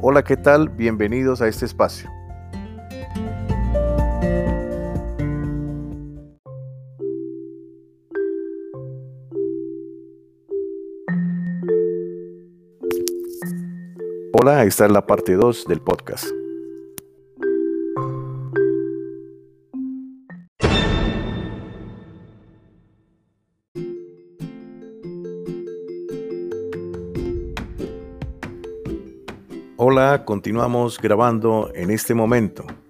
Hola, ¿qué tal? Bienvenidos a este espacio. Hola, esta es la parte 2 del podcast. Hola, continuamos grabando en este momento.